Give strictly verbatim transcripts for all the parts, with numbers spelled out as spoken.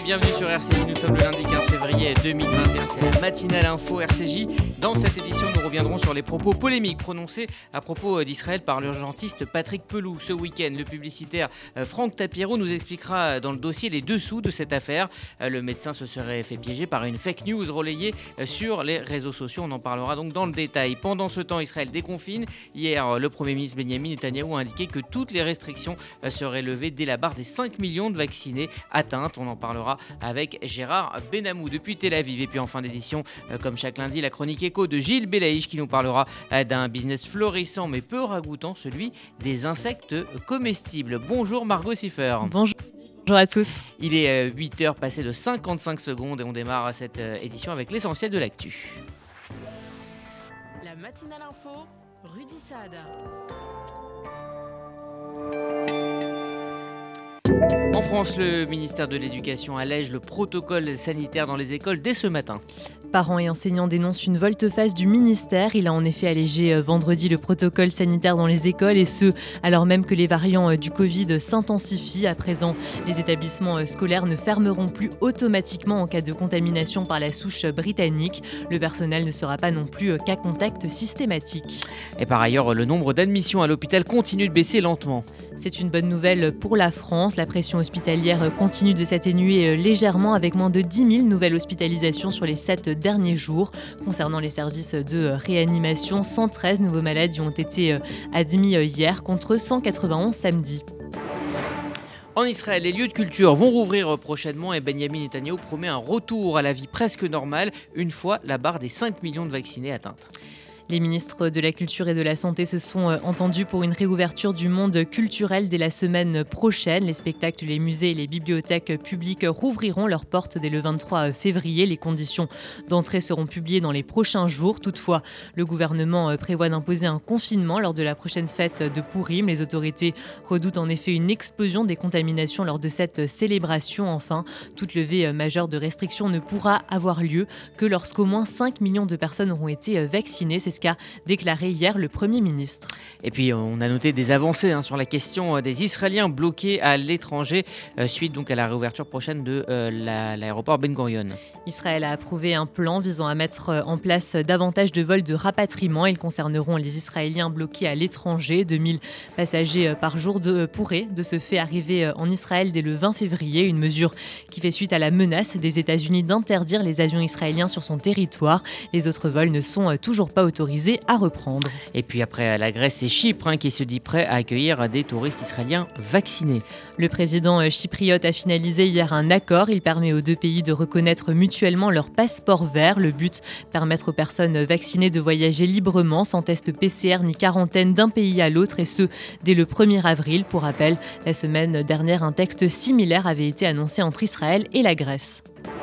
bienvenue sur R C J, nous sommes le lundi quinze février deux mille vingt et un, c'est la matinale info R C J. Dans cette édition, nous reviendrons sur les propos polémiques prononcés à propos d'Israël par l'urgentiste Patrick Pelloux. Ce week-end, le publicitaire Franck Tapiro nous expliquera dans le dossier les dessous de cette affaire. Le médecin se serait fait piéger par une fake news relayée sur les réseaux sociaux, on en parlera donc dans le détail. Pendant ce temps, Israël déconfine. Hier, le Premier ministre Benjamin Netanyahou a indiqué que toutes les restrictions seraient levées dès la barre des cinq millions de vaccinés atteintes. On en parlera avec Gérard Benamou depuis Tel Aviv. Et puis en fin d'édition, comme chaque lundi, la chronique éco de Gilles Belaïch qui nous parlera d'un business florissant mais peu ragoûtant, celui des insectes comestibles. Bonjour Margot Siffer. Bonjour. Bonjour à tous. Il est huit heures passées de cinquante-cinq secondes et on démarre cette édition avec l'essentiel de l'actu. La matinale info, Rudy Saad. En France, le ministère de l'Éducation allège le protocole sanitaire dans les écoles dès ce matin. Parents et enseignants dénoncent une volte-face du ministère. Il a en effet allégé vendredi le protocole sanitaire dans les écoles et ce, alors même que les variants du Covid s'intensifient. À présent, les établissements scolaires ne fermeront plus automatiquement en cas de contamination par la souche britannique. Le personnel ne sera pas non plus cas contact systématique. Et par ailleurs, le nombre d'admissions à l'hôpital continue de baisser lentement. C'est une bonne nouvelle pour la France. La pression hospitalière continue de s'atténuer légèrement avec moins de dix mille nouvelles hospitalisations sur les sept derniers jours. Concernant les services de réanimation, cent treize nouveaux malades y ont été admis hier contre cent quatre-vingt-onze samedi. En Israël, les lieux de culture vont rouvrir prochainement et Benjamin Netanyahou promet un retour à la vie presque normale une fois la barre des cinq millions de vaccinés atteinte. Les ministres de la Culture et de la Santé se sont entendus pour une réouverture du monde culturel dès la semaine prochaine. Les spectacles, les musées et les bibliothèques publiques rouvriront leurs portes dès le vingt-trois février. Les conditions d'entrée seront publiées dans les prochains jours. Toutefois, le gouvernement prévoit d'imposer un confinement lors de la prochaine fête de Pourim. Les autorités redoutent en effet une explosion des contaminations lors de cette célébration. Enfin, toute levée majeure de restrictions ne pourra avoir lieu que lorsqu'au moins cinq millions de personnes auront été vaccinées. C'est qu'a déclaré hier le Premier ministre. Et puis on a noté des avancées hein, sur la question des Israéliens bloqués à l'étranger euh, suite donc à la réouverture prochaine de euh, la, l'aéroport Ben Gurion. Israël a approuvé un plan visant à mettre en place davantage de vols de rapatriement. Ils concerneront les Israéliens bloqués à l'étranger. deux mille passagers par jour de, pourraient de ce fait arriver en Israël dès le vingt février. Une mesure qui fait suite à la menace des États-Unis d'interdire les avions israéliens sur son territoire. Les autres vols ne sont toujours pas autorisés à reprendre. Et puis après la Grèce, c'est Chypre hein, qui se dit prêt à accueillir des touristes israéliens vaccinés. Le président chypriote a finalisé hier un accord. Il permet aux deux pays de reconnaître mutuellement leur passeport vert. Le but, permettre aux personnes vaccinées de voyager librement sans test P C R ni quarantaine d'un pays à l'autre et ce, dès le premier avril. Pour rappel, la semaine dernière, un texte similaire avait été annoncé entre Israël et la Grèce.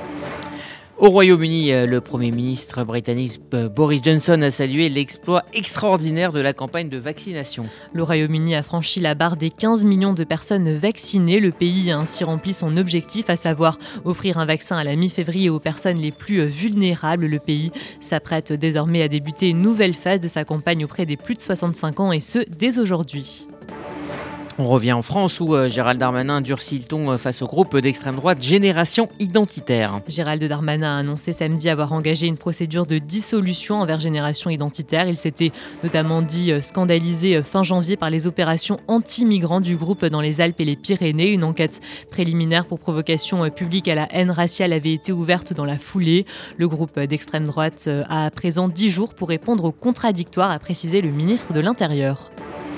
Au Royaume-Uni, le Premier ministre britannique Boris Johnson a salué l'exploit extraordinaire de la campagne de vaccination. Le Royaume-Uni a franchi la barre des quinze millions de personnes vaccinées. Le pays a ainsi rempli son objectif, à savoir offrir un vaccin à la mi-février aux personnes les plus vulnérables. Le pays s'apprête désormais à débuter une nouvelle phase de sa campagne auprès des plus de soixante-cinq ans et ce, dès aujourd'hui. On revient en France où euh, Gérald Darmanin durcit le ton face au groupe d'extrême droite Génération Identitaire. Gérald Darmanin a annoncé samedi avoir engagé une procédure de dissolution envers Génération Identitaire. Il s'était notamment dit scandalisé fin janvier par les opérations anti-migrants du groupe dans les Alpes et les Pyrénées. Une enquête préliminaire pour provocation publique à la haine raciale avait été ouverte dans la foulée. Le groupe d'extrême droite a à présent dix jours pour répondre aux contradictoires, a précisé le ministre de l'Intérieur.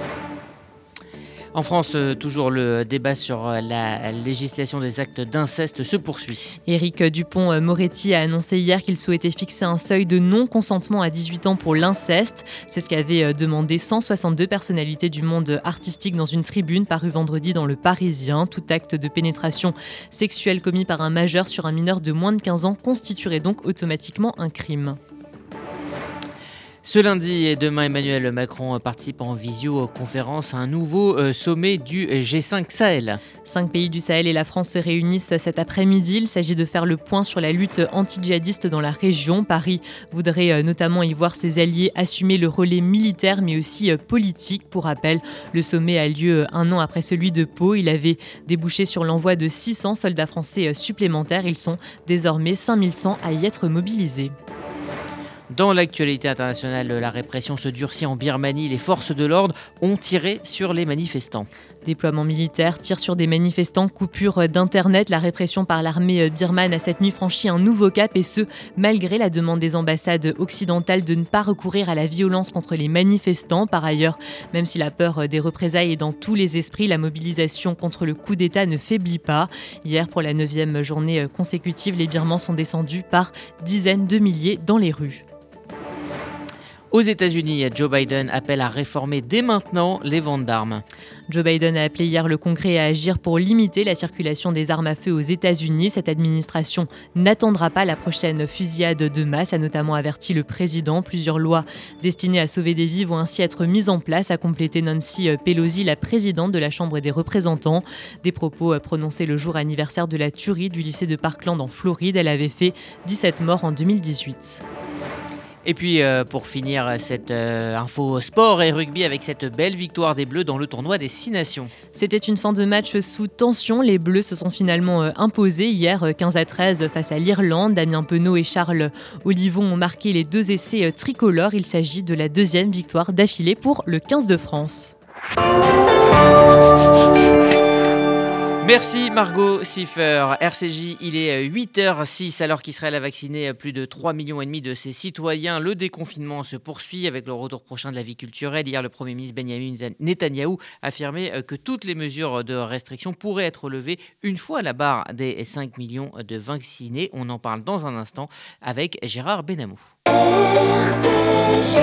En France, toujours le débat sur la législation des actes d'inceste se poursuit. Éric Dupond-Moretti a annoncé hier qu'il souhaitait fixer un seuil de non-consentement à dix-huit ans pour l'inceste. C'est ce qu'avaient demandé cent soixante-deux personnalités du monde artistique dans une tribune parue vendredi dans Le Parisien. Tout acte de pénétration sexuelle commis par un majeur sur un mineur de moins de quinze ans constituerait donc automatiquement un crime. Ce lundi et demain, Emmanuel Macron participe en visioconférence à un nouveau euh, sommet du G cinq Sahel. Cinq pays du Sahel et la France se réunissent cet après-midi. Il s'agit de faire le point sur la lutte anti-djihadiste dans la région. Paris voudrait euh, notamment y voir ses alliés assumer le relais militaire mais aussi euh, politique. Pour rappel, le sommet a lieu un an après celui de Pau. Il avait débouché sur l'envoi de six cents soldats français supplémentaires. Ils sont désormais cinq mille cent à y être mobilisés. Dans l'actualité internationale, la répression se durcit en Birmanie. Les forces de l'ordre ont tiré sur les manifestants. Déploiement militaire, tir sur des manifestants, coupure d'internet. La répression par l'armée birmane a cette nuit franchi un nouveau cap et ce, malgré la demande des ambassades occidentales de ne pas recourir à la violence contre les manifestants. Par ailleurs, même si la peur des représailles est dans tous les esprits, la mobilisation contre le coup d'État ne faiblit pas. Hier, pour la neuvième journée consécutive, les Birmans sont descendus par dizaines de milliers dans les rues. Aux États-Unis, Joe Biden appelle à réformer dès maintenant les ventes d'armes. Joe Biden a appelé hier le Congrès à agir pour limiter la circulation des armes à feu aux États-Unis. Cette administration n'attendra pas la prochaine fusillade de masse, a notamment averti le président. Plusieurs lois destinées à sauver des vies vont ainsi être mises en place, a complété Nancy Pelosi, la présidente de la Chambre des représentants. Des propos prononcés le jour anniversaire de la tuerie du lycée de Parkland en Floride. Elle avait fait dix-sept morts en deux mille dix-huit. Et puis euh, pour finir cette euh, info sport et rugby avec cette belle victoire des Bleus dans le tournoi des Six Nations. C'était une fin de match sous tension. Les Bleus se sont finalement euh, imposés hier quinze à treize face à l'Irlande. Damien Penaud et Charles Olivon ont marqué les deux essais euh, tricolores. Il s'agit de la deuxième victoire d'affilée pour le quinze de France. Merci Margot Siffer. R C J, il est huit heures six alors qu'Israël a vacciné plus de trois virgule cinq millions de ses citoyens. Le déconfinement se poursuit avec le retour prochain de la vie culturelle. Hier, le Premier ministre Benjamin Netanyahou affirmait que toutes les mesures de restriction pourraient être levées une fois la barre des cinq millions de vaccinés. On en parle dans un instant avec Gérard Benamou. R C J.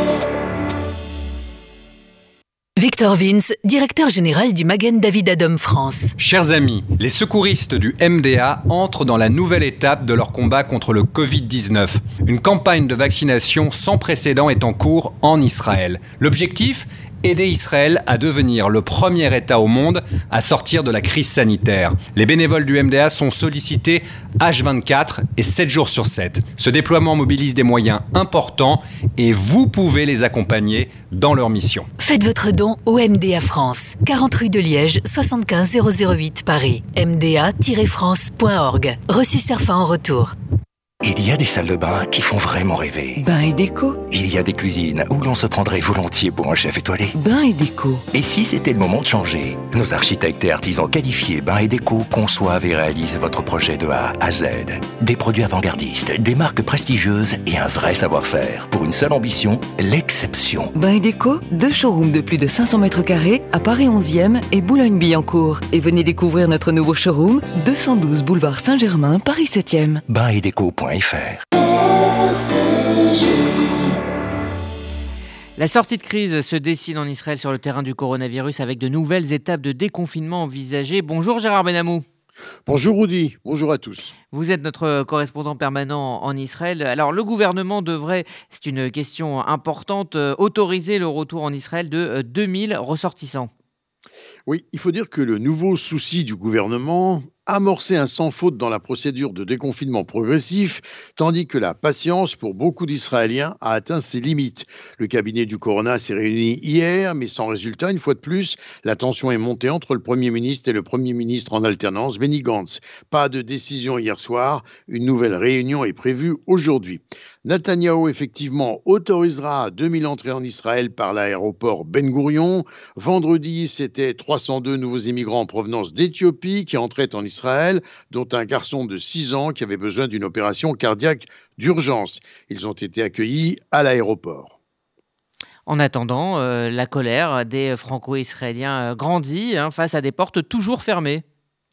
Victor Vince, directeur général du Magen David Adom France. Chers amis, les secouristes du M D A entrent dans la nouvelle étape de leur combat contre le covid dix-neuf. Une campagne de vaccination sans précédent est en cours en Israël. L'objectif ? Aider Israël à devenir le premier État au monde à sortir de la crise sanitaire. Les bénévoles du M D A sont sollicités H vingt-quatre et sept jours sur sept. Ce déploiement mobilise des moyens importants et vous pouvez les accompagner dans leur mission. Faites votre don au M D A France, quarante rue de Liège, soixante-quinze zéro zéro huit Paris, m d a tiret france point org. Reçu Cerfa en retour. Il y a des salles de bain qui font vraiment rêver. Bain et déco. Il y a des cuisines où l'on se prendrait volontiers pour un chef étoilé. Bain et déco. Et si c'était le moment de changer ? Nos architectes et artisans qualifiés Bain et déco conçoivent et réalisent votre projet de A à Z. Des produits avant-gardistes, des marques prestigieuses et un vrai savoir-faire. Pour une seule ambition, l'exception. Bain et déco, deux showrooms de plus de cinq cents mètres carrés à Paris onzième et Boulogne-Billancourt. Et venez découvrir notre nouveau showroom, deux cent douze boulevard Saint-Germain, Paris septième. bain et déco point f r. La sortie de crise se dessine en Israël sur le terrain du coronavirus avec de nouvelles étapes de déconfinement envisagées. Bonjour Gérard Benamou. Bonjour Rudy, bonjour à tous. Vous êtes notre correspondant permanent en Israël. Alors le gouvernement devrait, c'est une question importante, autoriser le retour en Israël de deux mille ressortissants. Oui, il faut dire que le nouveau souci du gouvernement, amorcer un sans faute dans la procédure de déconfinement progressif, tandis que la patience pour beaucoup d'Israéliens a atteint ses limites. Le cabinet du Corona s'est réuni hier, mais sans résultat. Une fois de plus, la tension est montée entre le Premier ministre et le Premier ministre en alternance, Benny Gantz. Pas de décision hier soir, une nouvelle réunion est prévue aujourd'hui. Netanyahou, effectivement, autorisera deux mille entrées en Israël par l'aéroport Ben Gourion. Vendredi, c'était trois cent deux nouveaux immigrants en provenance d'Éthiopie qui entraient en Israël, dont un garçon de six ans qui avait besoin d'une opération cardiaque d'urgence. Ils ont été accueillis à l'aéroport. En attendant, euh, la colère des franco-israéliens grandit hein, face à des portes toujours fermées.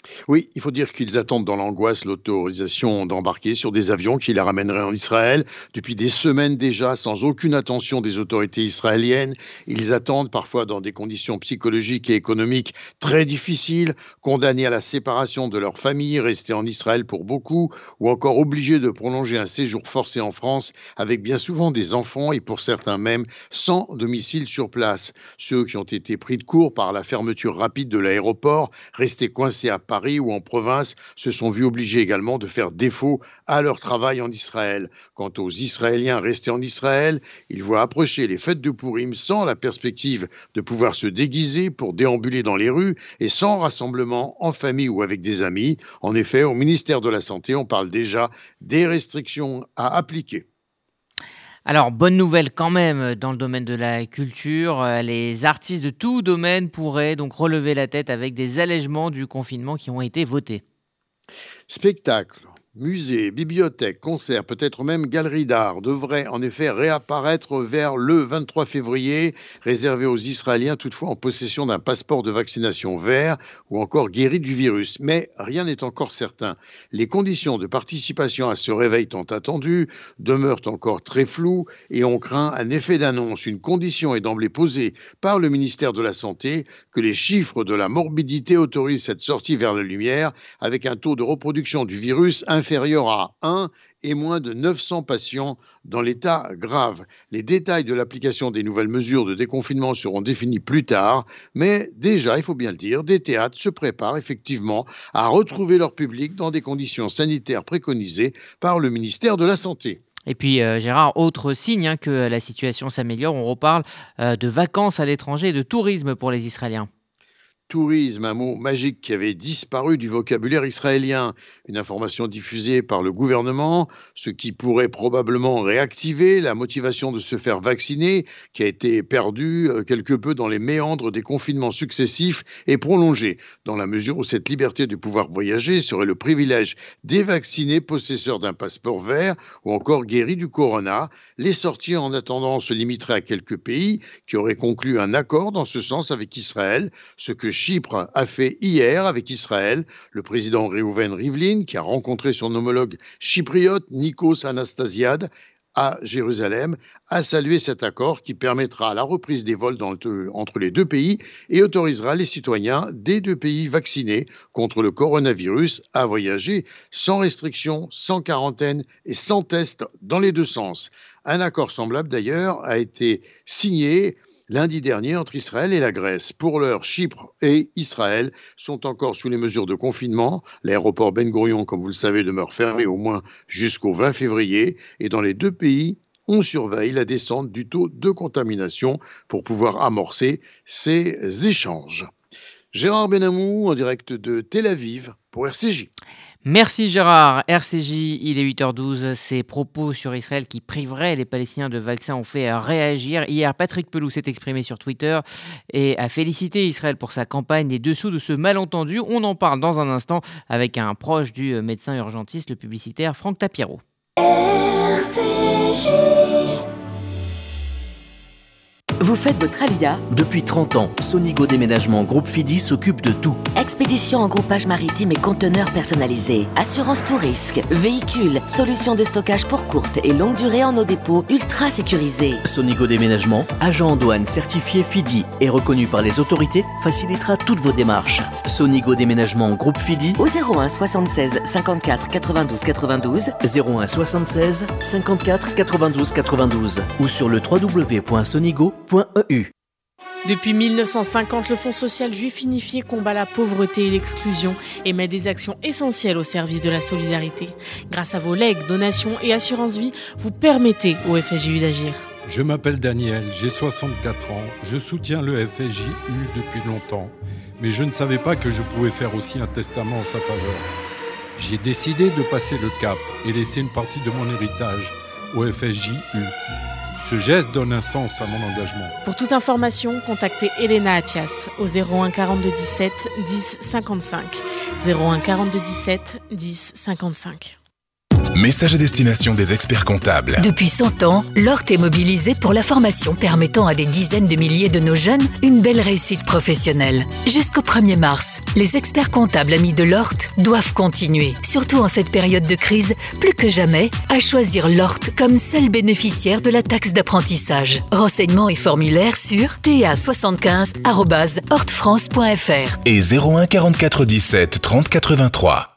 Oui, il faut dire qu'ils attendent dans l'angoisse l'autorisation d'embarquer sur des avions qui les ramèneraient en Israël. Depuis des semaines déjà, sans aucune attention des autorités israéliennes, ils attendent parfois dans des conditions psychologiques et économiques très difficiles, condamnés à la séparation de leur famille, restés en Israël pour beaucoup, ou encore obligés de prolonger un séjour forcé en France avec bien souvent des enfants et pour certains même sans domicile sur place. Ceux qui ont été pris de court par la fermeture rapide de l'aéroport, restés coincés à Paris, Paris ou en province, se sont vus obligés également de faire défaut à leur travail en Israël. Quant aux Israéliens restés en Israël, ils voient approcher les fêtes de Pourim sans la perspective de pouvoir se déguiser pour déambuler dans les rues et sans rassemblement en famille ou avec des amis. En effet, au ministère de la Santé, on parle déjà des restrictions à appliquer. Alors, bonne nouvelle quand même dans le domaine de la culture. Les artistes de tout domaine pourraient donc relever la tête avec des allègements du confinement qui ont été votés. Spectacles, musées, bibliothèques, concerts, peut-être même galeries d'art devraient en effet réapparaître vers le vingt-trois février, réservés aux Israéliens toutefois en possession d'un passeport de vaccination vert ou encore guéris du virus. Mais rien n'est encore certain. Les conditions de participation à ce réveil tant attendu demeurent encore très floues et on craint un effet d'annonce. Une condition est d'emblée posée par le ministère de la Santé, que les chiffres de la morbidité autorisent cette sortie vers la lumière avec un taux de reproduction du virus inférieur inférieur à un et moins de neuf cents patients dans l'état grave. Les détails de l'application des nouvelles mesures de déconfinement seront définis plus tard, mais déjà, il faut bien le dire, des théâtres se préparent effectivement à retrouver leur public dans des conditions sanitaires préconisées par le ministère de la Santé. Et puis euh, Gérard, autre signe hein, que la situation s'améliore, on reparle euh, de vacances à l'étranger et de tourisme pour les Israéliens. Tourisme, un mot magique qui avait disparu du vocabulaire israélien. Une information diffusée par le gouvernement, ce qui pourrait probablement réactiver la motivation de se faire vacciner, qui a été perdue quelque peu dans les méandres des confinements successifs et prolongés, dans la mesure où cette liberté de pouvoir voyager serait le privilège des vaccinés possesseurs d'un passeport vert ou encore guéris du corona. Les sorties en attendant se limiteraient à quelques pays qui auraient conclu un accord dans ce sens avec Israël, ce que Chypre a fait hier avec Israël. Le président Reuven Rivlin, qui a rencontré son homologue chypriote Nikos Anastasiades à Jérusalem, a salué cet accord qui permettra la reprise des vols dans le, entre les deux pays et autorisera les citoyens des deux pays vaccinés contre le coronavirus à voyager sans restriction, sans quarantaine et sans test dans les deux sens. Un accord semblable d'ailleurs a été signé lundi dernier entre Israël et la Grèce. Pour l'heure, Chypre et Israël sont encore sous les mesures de confinement. L'aéroport Ben Gurion, comme vous le savez, demeure fermé au moins jusqu'au vingt février. Et dans les deux pays, on surveille la descente du taux de contamination pour pouvoir amorcer ces échanges. Gérard Benamou en direct de Tel Aviv pour R C J. Merci Gérard. R C J, il est huit heures douze. Ces propos sur Israël qui priveraient les Palestiniens de vaccins ont fait réagir. Hier, Patrick Pelloux s'est exprimé sur Twitter et a félicité Israël pour sa campagne. Les dessous de ce malentendu, on en parle dans un instant avec un proche du médecin urgentiste, le publicitaire Franck Tapiro. R C J. Vous faites votre alia ? Depuis trente ans, Sonigo Déménagement Groupe Fidi s'occupe de tout. Expédition en groupage maritime et conteneurs personnalisés. Assurance tout risque. Véhicules. Solutions de stockage pour courte et longue durée en nos dépôts ultra sécurisés. Sonigo Déménagement, agent en douane certifié Fidi et reconnu par les autorités, facilitera toutes vos démarches. Sonigo Déménagement Groupe Fidi au zéro un soixante-seize cinquante-quatre quatre-vingt-douze quatre-vingt-douze zéro un soixante-seize cinquante-quatre quatre-vingt-douze quatre-vingt-douze ou sur le w w w point sonigo point e u. Depuis mille neuf cent cinquante, le Fonds social juif unifié combat la pauvreté et l'exclusion et met des actions essentielles au service de la solidarité. Grâce à vos legs, donations et assurances vie, vous permettez au F S J U d'agir. Je m'appelle Daniel, j'ai soixante-quatre ans, je soutiens le F S J U depuis longtemps, mais je ne savais pas que je pouvais faire aussi un testament en sa faveur. J'ai décidé de passer le cap et laisser une partie de mon héritage au F S J U. Ce geste donne un sens à mon engagement. Pour toute information, contactez Elena Atias au zéro un quarante-deux dix-sept dix cinquante-cinq. zéro un quarante-deux dix-sept dix cinquante-cinq. Message à destination des experts comptables. Depuis cent ans, Lort est mobilisé pour la formation permettant à des dizaines de milliers de nos jeunes une belle réussite professionnelle. Jusqu'au premier mars, les experts comptables amis de Lort doivent continuer, surtout en cette période de crise, plus que jamais, à choisir Lort comme seul bénéficiaire de la taxe d'apprentissage. Renseignements et formulaires sur t a soixante-quinze arobase hortefrance point f r et zéro un quarante-quatre dix-sept trente quatre-vingt-trois.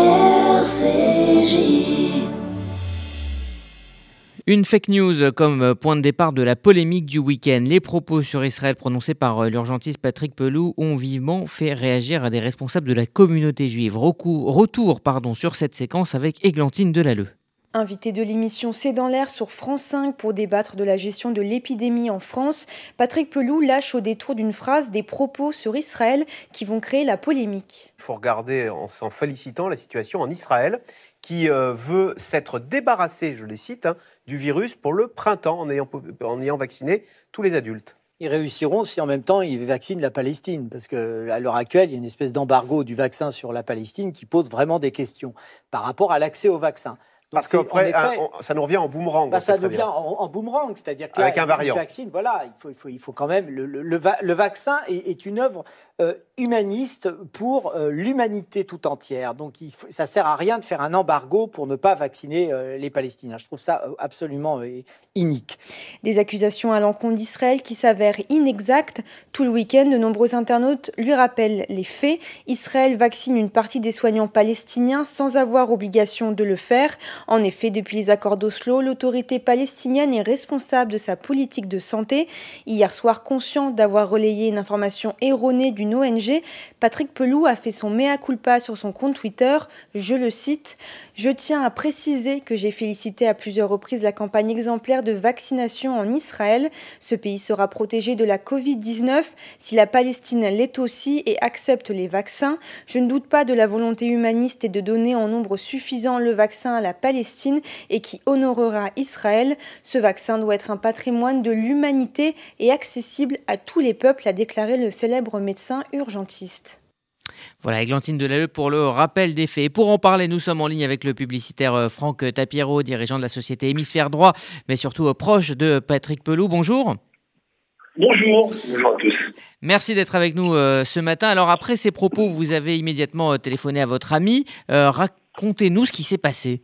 Une fake news comme point de départ de la polémique du week-end. Les propos sur Israël prononcés par l'urgentiste Patrick Pelloux ont vivement fait réagir à des responsables de la communauté juive. Recours, retour pardon, sur cette séquence avec Églantine Delalleux. Invité de l'émission C'est dans l'air sur France cinq pour débattre de la gestion de l'épidémie en France, Patrick Pelloux lâche au détour d'une phrase des propos sur Israël qui vont créer la polémique. Il faut regarder en s'en félicitant la situation en Israël qui euh, veut s'être débarrassé, je les cite, hein, du virus pour le printemps en ayant, en ayant vacciné tous les adultes. Ils réussiront si en même temps ils vaccinent la Palestine, parce qu'à l'heure actuelle, il y a une espèce d'embargo du vaccin sur la Palestine qui pose vraiment des questions par rapport à l'accès au vaccin. Donc Parce qu'après, ça nous revient en boomerang. Bah, ça nous revient en, en boomerang, c'est-à-dire que là, avec un variant. Le vaccin, voilà, il faut, il faut, il faut quand même. Le, le, le, va, le vaccin est, est une œuvre euh, humaniste pour euh, l'humanité tout entière. Donc, il faut, ça sert à rien de faire un embargo pour ne pas vacciner euh, les Palestiniens. Je trouve ça euh, absolument euh, inique. Des accusations à l'encontre d'Israël qui s'avèrent inexactes. Tout le week-end, de nombreux internautes lui rappellent les faits. Israël vaccine une partie des soignants palestiniens sans avoir obligation de le faire. En effet, depuis les accords d'Oslo, l'autorité palestinienne est responsable de sa politique de santé. Hier soir, conscient d'avoir relayé une information erronée d'une O N G, Patrick Pelloux a fait son mea culpa sur son compte Twitter. Je le cite « Je tiens à préciser que j'ai félicité à plusieurs reprises la campagne exemplaire de vaccination en Israël. Ce pays sera protégé de la covid dix-neuf si la Palestine l'est aussi et accepte les vaccins. Je ne doute pas de la volonté humaniste et de donner en nombre suffisant le vaccin à la Palestine et qui honorera Israël. Ce vaccin doit être un patrimoine de l'humanité et accessible à tous les peuples », a déclaré le célèbre médecin urgentiste. Voilà, Églantine Delalleux pour le rappel des faits. Et pour en parler, nous sommes en ligne avec le publicitaire Franck Tapiero, dirigeant de la société Hémisphère Droit, mais surtout proche de Patrick Pelloux. Bonjour. Bonjour, bonjour à tous. Merci d'être avec nous euh, ce matin. Alors après ces propos, vous avez immédiatement euh, téléphoné à votre ami. Euh, racontez-nous ce qui s'est passé.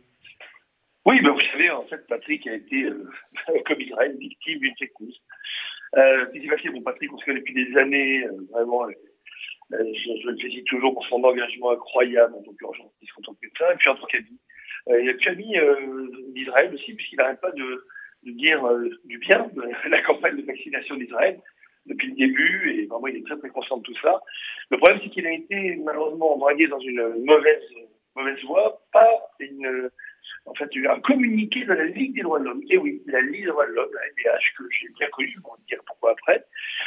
Oui, ben vous savez, en fait, Patrick a été, euh, comme Israël, victime d'une fake news. Euh, qu'est-ce qui s'est passé ? Bon, Patrick, on se connaît depuis des années, euh, vraiment, euh, je, je le félicite toujours pour son engagement incroyable en tant qu'urgentiste, en tant que médecin, et puis en tant qu'ami. Euh, il a puis ami euh, d'Israël aussi, puisqu'il n'arrête pas de, de dire euh, du bien de la campagne de vaccination d'Israël depuis le début, et vraiment, il est très très conscient de tout ça. Le problème, c'est qu'il a été malheureusement dragué dans une mauvaise, mauvaise voie, pas une... En fait, il y a un communiqué de la Ligue des droits de l'homme, et oui, la Ligue des droits de l'homme, la L D H, que j'ai bien connu, on va dire pourquoi après,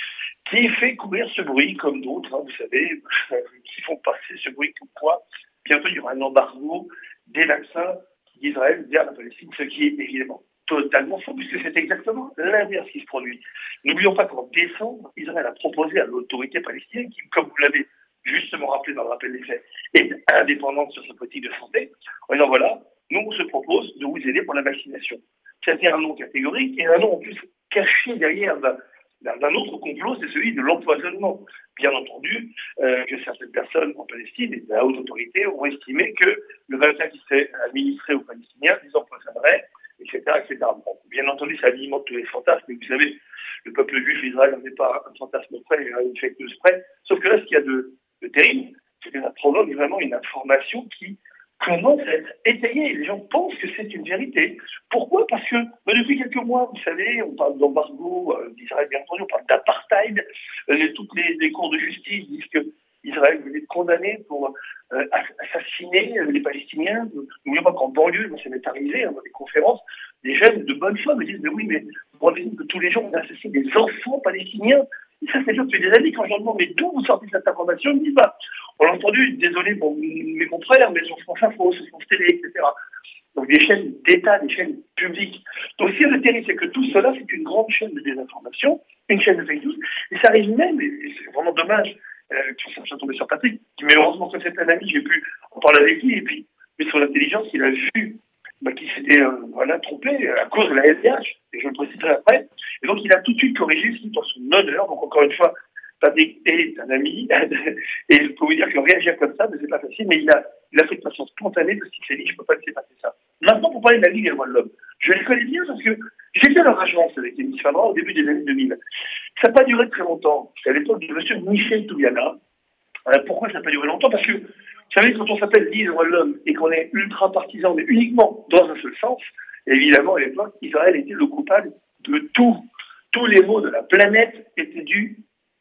qui fait courir ce bruit, comme d'autres, hein, vous savez, qui font passer ce bruit comme quoi, bientôt il y aura un embargo des vaccins d'Israël vers la Palestine, ce qui est évidemment totalement faux, puisque c'est exactement l'inverse qui se produit. N'oublions pas qu'en décembre, Israël a proposé à l'autorité palestinienne, qui, comme vous l'avez justement rappelé dans le rappel des faits, est indépendante sur sa politique de santé, en disant voilà, nous, on se propose de vous aider pour la vaccination. C'était un nom catégorique et un nom en plus caché derrière d'un, d'un autre complot, c'est celui de l'empoisonnement. Bien entendu, euh, que certaines personnes en Palestine et de la haute autorité ont estimé que le vaccin qui serait administré aux Palestiniens les empoisonnerait, et cetera, et cetera. Bon, bien entendu, ça alimente tous les fantasmes, mais vous savez, le peuple juif d'Israël n'avait pas un fantasme près, une fake news près. Sauf que là, ce qu'il y a de, de terrible, c'est que ça provoque vraiment une information qui commence à être étayée. Les gens pensent que c'est une vérité. Pourquoi ? Parce que bah, depuis quelques mois, vous savez, on parle d'embargo euh, d'Israël, bien entendu, on parle d'apartheid. Euh, les, toutes les, les cours de justice disent que Israël venait être condamné pour euh, assassiner euh, les Palestiniens. N'oublions pas qu'en banlieue, ça m'est arrivé hein, dans des conférences, des jeunes de bonne foi me disent mais oui, mais vous vous rendez compte que tous les jours on assassine des enfants palestiniens. Et ça, c'est déjà depuis des années quand je leur demande mais d'où vous sortez cette information, ils me disent bah on l'a entendu, désolé pour mes confrères, mais sur France Info, sur France Télé, et cetera. Donc des chaînes d'État, des chaînes publiques. Donc ce qui est terrible, c'est que tout cela, c'est une grande chaîne de désinformation, une chaîne de fake news, et ça arrive même, et c'est vraiment dommage euh, que ça soit tombé sur Patrick, mais heureusement que c'est un ami, j'ai pu en parler avec lui, et puis, mais son intelligence, il a vu bah, été euh, voilà, trompé à cause de la S D H, et je le préciserai après. Et donc il a tout de suite corrigé ce qui est en son honneur. Donc encore une fois, Patrick est un ami, et je peux vous dire que réagir comme ça, mais c'est pas facile, mais il a, il a fait de façon spontanée parce qu'il s'est dit je peux pas laisser passer ça. Maintenant, pour parler de la Ligue des droits de l'homme, je les connais bien parce que j'ai fait leur agence avec Émilie Fadra au début des années deux mille. Ça n'a pas duré très longtemps. C'est à l'époque de M. Michel Toubiana. Euh, pourquoi ça n'a pas duré longtemps? Parce que, vous savez, quand on s'appelle Ligue des droits de l'homme et qu'on est ultra partisan, mais uniquement dans un seul sens, évidemment, à l'époque, Israël était le coupable de tout. Tous les maux de la planète étaient dus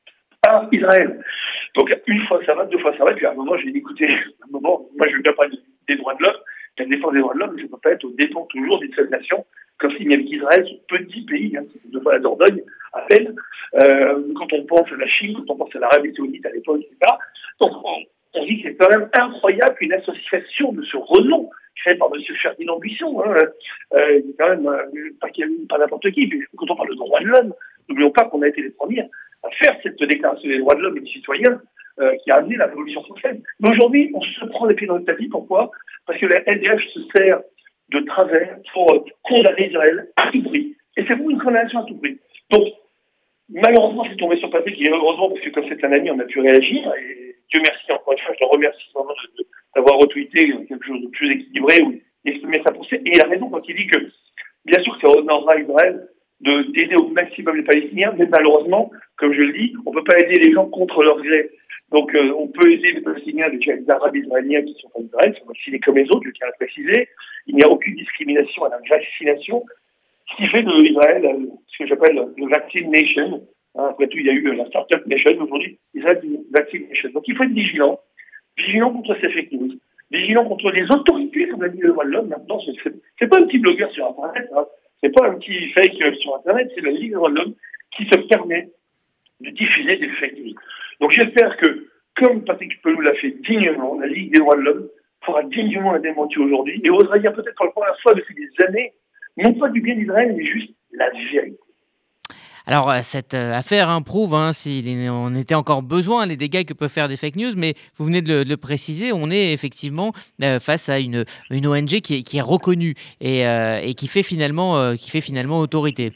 à Israël. Donc, une fois ça va, deux fois ça va, puis à un moment, j'ai dit, écoutez, à un moment, moi, je ne veux pas parler des droits de l'homme, la défense des droits de l'homme, mais ça ne peut pas être au dépens toujours d'une seule nation, comme s'il n'y avait qu'Israël, ce petit pays, hein, c'est deux fois la Dordogne, à peine, euh, quand on pense à la Chine, quand on pense à l'Arabie Saoudite à l'époque, et cetera. Donc, on, on dit que c'est quand même incroyable qu'une association de ce renom, créée par M. Ferdinand Buisson, hein, euh, quand même, euh, pas, pas n'importe qui, mais quand on parle de droits de l'homme, n'oublions pas qu'on a été les premiers à faire cette déclaration des droits de l'homme et des citoyens, euh, qui a amené la Révolution française. Mais aujourd'hui, on se prend les pieds dans le tapis. Pourquoi? Parce que la L D H se sert de travers pour euh, condamner Israël à tout prix. Et c'est pour une condamnation à tout prix. Donc, malheureusement, c'est tombé sur Patrick, et heureusement, parce que comme c'est un ami, on a pu réagir, et Dieu merci, encore une fois, je le remercie vraiment de, de, d'avoir retweeté quelque chose de plus équilibré, ou exprimé sa pensée, et il a raison quand il dit que, bien sûr, ça honorera Israël de, d'aider au maximum les Palestiniens, mais malheureusement, comme je le dis, on ne peut pas aider les gens contre leur gré. Donc, euh, on peut aider les Palestiniens, les Arabes israéliens qui sont en Israël, sont vaccinés comme les autres, je tiens à préciser. Il n'y a aucune discrimination à la vaccination, ce qui fait de Israël euh, ce que j'appelle le Vaccine Nation. Hein, après tout, il y a eu la Startup Nation. Aujourd'hui, Israël est une Vaccine Nation. Donc, il faut être vigilant. Vigilant contre ces fake news. Vigilant contre les autorités, comme l'a dit le droit de l'homme. Maintenant, c'est, c'est, c'est pas un petit blogueur sur Internet. Hein. C'est pas un petit fake euh, sur Internet. C'est la Ligue des droits de l'homme qui se permet de diffuser des fake news. Donc, j'espère que, comme Patrick Pelloux l'a fait dignement, la Ligue des droits de l'homme fera dignement un démenti aujourd'hui et osera dire peut-être pour la première fois depuis des années, non pas du bien d'Israël, mais juste la vérité. Alors, cette affaire hein, prouve, hein, s'il en était encore besoin, les dégâts que peuvent faire des fake news, mais vous venez de le, de le préciser, on est effectivement euh, face à une, une O N G qui est, qui est reconnue et, euh, et qui, fait finalement, euh, qui fait finalement autorité.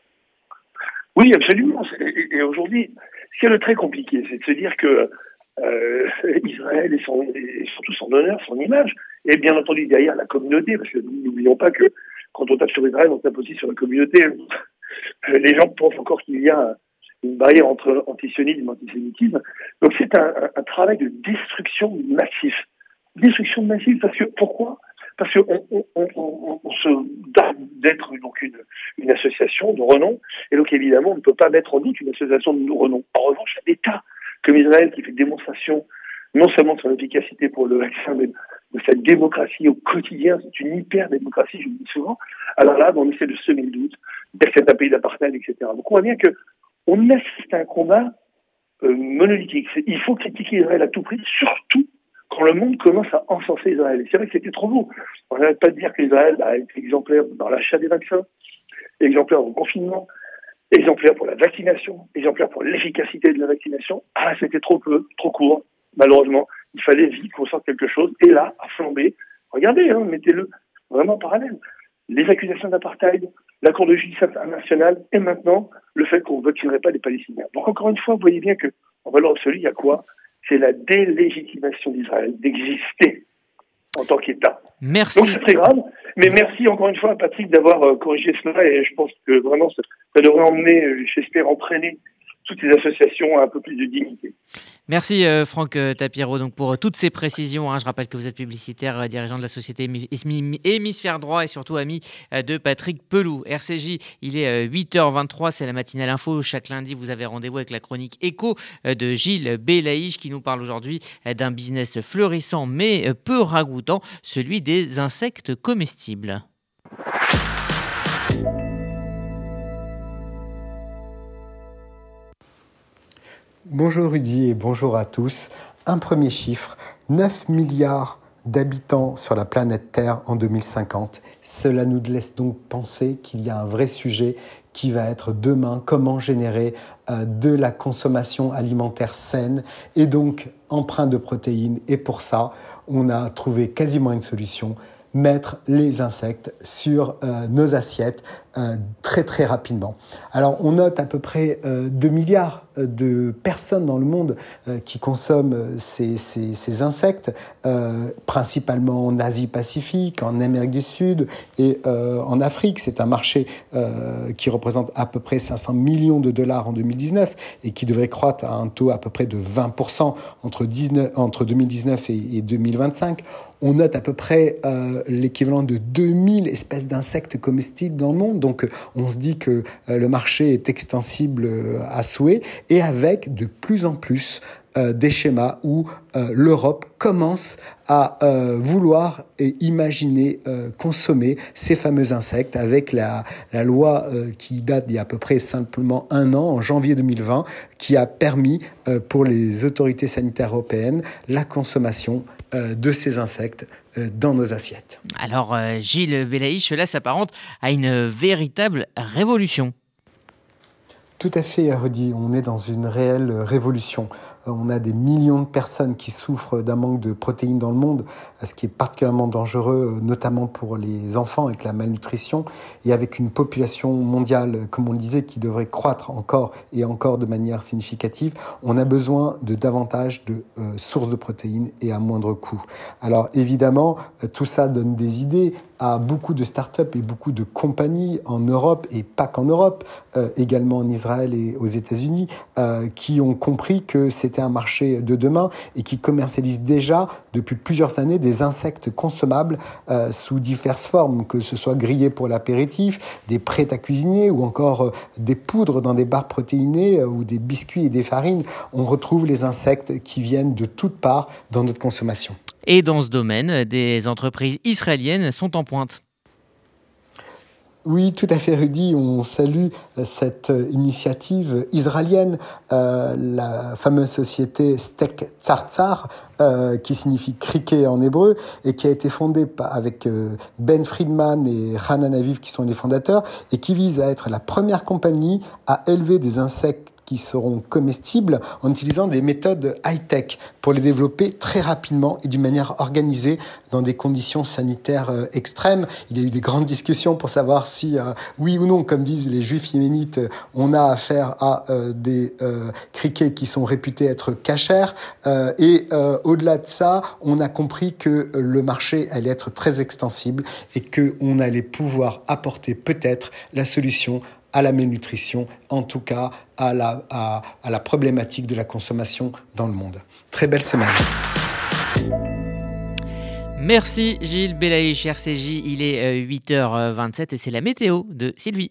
Oui, absolument. Et, et aujourd'hui, ce qui est le très compliqué, c'est de se dire que euh, Israël et, son, et surtout son honneur, son image, et bien entendu derrière la communauté, parce que n'oublions pas que quand on tape sur Israël, on tape aussi sur la communauté. Les gens pensent encore qu'il y a une barrière entre antisionisme et antisémitisme. Donc c'est un, un, un travail de destruction massif. Destruction massive parce que, pourquoi? Parce qu'on on, on, on, on se donne d'être donc une, une association de renom, et donc évidemment on ne peut pas mettre en doute une association de renom. En revanche, l'État comme Israël qui fait démonstration non seulement de son efficacité pour le vaccin, mais de sa démocratie au quotidien, c'est une hyper-démocratie, je le dis souvent, alors là, on essaie de semer le doute, dire que c'est un pays d'apartheid, et cetera. Donc on voit bien qu'on assiste à un combat euh, monolithique. C'est, il faut critiquer Israël à tout prix, surtout quand le monde commence à encenser Israël. Et c'est vrai que c'était trop beau. On n'arrête pas de dire qu'Israël a été exemplaire dans l'achat des vaccins, exemplaire au confinement, exemplaire pour la vaccination, exemplaire pour l'efficacité de la vaccination. Ah, c'était trop peu, trop court. Malheureusement, il fallait vite qu'on sorte quelque chose. Et là, à flamber, regardez, hein, mettez-le vraiment en parallèle. Les accusations d'apartheid, la Cour de justice internationale, et maintenant, le fait qu'on ne vaccinerait pas les Palestiniens. Donc encore une fois, vous voyez bien qu'en valeur absolue, il y a quoi? C'est la délégitimation d'Israël, d'exister en tant qu'État. Merci. Donc c'est très grave, mais merci encore une fois à Patrick d'avoir euh, corrigé cela, et je pense que vraiment, ça, ça devrait emmener, euh, j'espère, entraîner toutes ces associations à un peu plus de dignité. Merci euh, Franck euh, Tapiro donc, pour euh, toutes ces précisions. Hein. Je rappelle que vous êtes publicitaire, euh, dirigeant de la société Hémisphère Droit et surtout ami euh, de Patrick Pelloux. R C J, il est euh, huit heures vingt-trois, c'est la matinale info. Chaque lundi, vous avez rendez-vous avec la chronique Écho euh, de Gilles Belaïch qui nous parle aujourd'hui euh, d'un business florissant mais euh, peu ragoûtant, celui des insectes comestibles. Bonjour Rudy et bonjour à tous. Un premier chiffre, neuf milliards d'habitants sur la planète Terre en deux mille cinquante. Cela nous laisse donc penser qu'il y a un vrai sujet qui va être demain, comment générer euh, de la consommation alimentaire saine et donc empreinte de protéines. Et pour ça, on a trouvé quasiment une solution, mettre les insectes sur euh, nos assiettes euh, très très rapidement. Alors on note à peu près euh, deux milliards de personnes dans le monde euh, qui consomment ces, ces, ces insectes, euh, principalement en Asie-Pacifique, en Amérique du Sud et euh, en Afrique. C'est un marché euh, qui représente à peu près cinq cents millions de dollars en deux mille dix-neuf et qui devrait croître à un taux à peu près de vingt pour cent entre, dix-neuf, entre deux mille dix-neuf et, et deux mille vingt-cinq. On note à peu près euh, l'équivalent de deux mille espèces d'insectes comestibles dans le monde. Donc, on se dit que euh, le marché est extensible euh, à souhait et avec de plus en plus euh, des schémas où euh, l'Europe commence à euh, vouloir et imaginer euh, consommer ces fameux insectes avec la, la loi euh, qui date d'il y a à peu près simplement un an, en janvier deux mille vingt, qui a permis euh, pour les autorités sanitaires européennes la consommation euh, de ces insectes euh, dans nos assiettes. Alors euh, Gilles Belaïch, cela s'apparente à une véritable révolution. Tout à fait, Rudy. On est dans une réelle révolution. On a des millions de personnes qui souffrent d'un manque de protéines dans le monde, ce qui est particulièrement dangereux, notamment pour les enfants avec la malnutrition, et avec une population mondiale, comme on le disait, qui devrait croître encore et encore de manière significative. On a besoin de davantage de euh, sources de protéines et à moindre coût. Alors évidemment, tout ça donne des idées à beaucoup de startups et beaucoup de compagnies en Europe, et pas qu'en Europe, euh, également en Israël et aux États-Unis, euh, qui ont compris que c'était un marché de demain et qui commercialisent déjà depuis plusieurs années des insectes consommables euh, sous diverses formes, que ce soit grillés pour l'apéritif, des prêts à cuisiner ou encore euh, des poudres dans des barres protéinées euh, ou des biscuits et des farines. On retrouve les insectes qui viennent de toutes parts dans notre consommation. Et dans ce domaine, des entreprises israéliennes sont en pointe. Oui, tout à fait, Rudy. On salue cette initiative israélienne, euh, la fameuse société Steak Tzar, euh, qui signifie criquet en hébreu, et qui a été fondée avec euh, Ben Friedman et Hanan Aviv, qui sont les fondateurs, et qui vise à être la première compagnie à élever des insectes qui seront comestibles en utilisant des méthodes high-tech pour les développer très rapidement et d'une manière organisée dans des conditions sanitaires euh, extrêmes. Il y a eu des grandes discussions pour savoir si, euh, oui ou non, comme disent les juifs yéménites, on a affaire à euh, des euh, criquets qui sont réputés être cachers. Euh, et euh, au-delà de ça, on a compris que le marché allait être très extensible et qu'on allait pouvoir apporter peut-être la solution à la malnutrition, en tout cas à la, à, à la problématique de la consommation dans le monde. Très belle semaine. Merci Gilles Belaïch, R C J, il est huit heures vingt-sept et c'est la météo de Sylvie.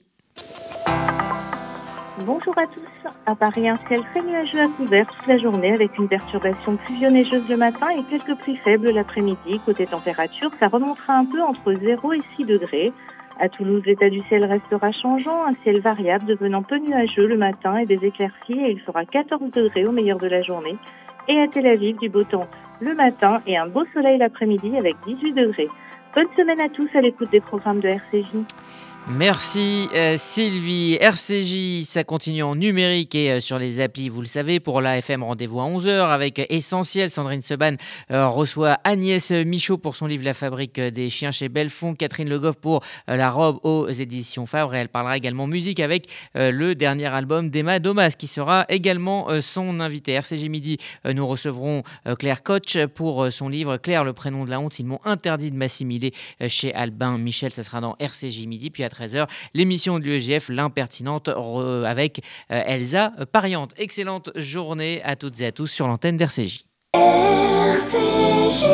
Bonjour à tous. À Paris, un ciel très nuageux à couvert toute la journée avec une perturbation pluvio-neigeuse le matin et quelques pluies faibles l'après-midi. Côté température, ça remontera un peu entre zéro et six degrés. À Toulouse, l'état du ciel restera changeant, un ciel variable devenant peu nuageux le matin et des éclaircies et il fera quatorze degrés au meilleur de la journée. Et à Tel Aviv, du beau temps le matin et un beau soleil l'après-midi avec dix-huit degrés. Bonne semaine à tous à l'écoute des programmes de R C J. Merci euh, Sylvie. R C J, ça continue en numérique et euh, sur les applis, vous le savez. Pour l'A F M, rendez-vous à onze heures avec Essentiel. Sandrine Seban euh, reçoit Agnès Michaud pour son livre La fabrique des chiens chez Belfond. Catherine Le Goff pour euh, La robe aux éditions Fabre. Et elle parlera également musique avec euh, le dernier album d'Emma Domas qui sera également euh, son invité. R C J Midi, euh, nous recevrons euh, Claire Koch pour euh, son livre Claire, le prénom de la honte. Ils m'ont interdit de m'assimiler euh, chez Albin Michel. Ça sera dans R C J Midi. Puis à treize heures, l'émission de l'U E G F, l'impertinente, re- avec euh, Elsa Pariante. Excellente journée à toutes et à tous sur l'antenne d'R C J. R C J.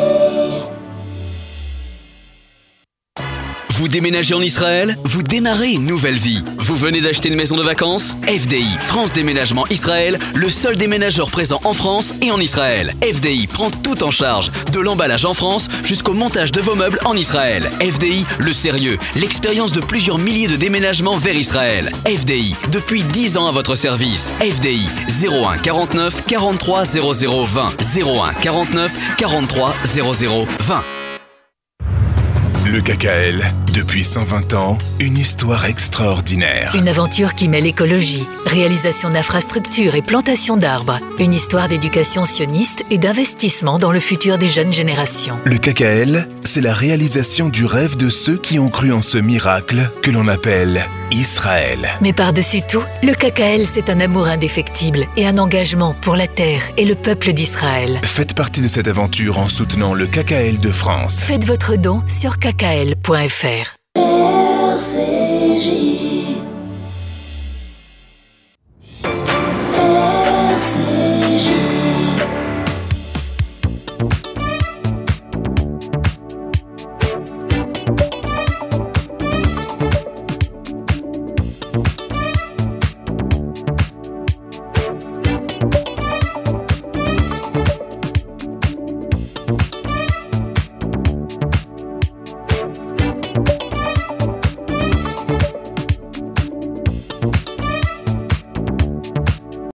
Vous déménagez en Israël? Vous démarrez une nouvelle vie. Vous venez d'acheter une maison de vacances? F D I, France Déménagement Israël, le seul déménageur présent en France et en Israël. F D I prend tout en charge, de l'emballage en France jusqu'au montage de vos meubles en Israël. F D I, le sérieux, l'expérience de plusieurs milliers de déménagements vers Israël. F D I, depuis dix ans à votre service. F D I, zéro un quarante-neuf quarante-trois zéro zéro vingt. zéro un quarante-neuf quarante-trois zéro zéro vingt. Le K K L, depuis cent vingt ans, une histoire extraordinaire. Une aventure qui mêle écologie, réalisation d'infrastructures et plantation d'arbres. Une histoire d'éducation sioniste et d'investissement dans le futur des jeunes générations. Le K K L, c'est la réalisation du rêve de ceux qui ont cru en ce miracle que l'on appelle Israël. Mais par-dessus tout, le K K L, c'est un amour indéfectible et un engagement pour la terre et le peuple d'Israël. Faites partie de cette aventure en soutenant le K K L de France. Faites votre don sur k k l point f r.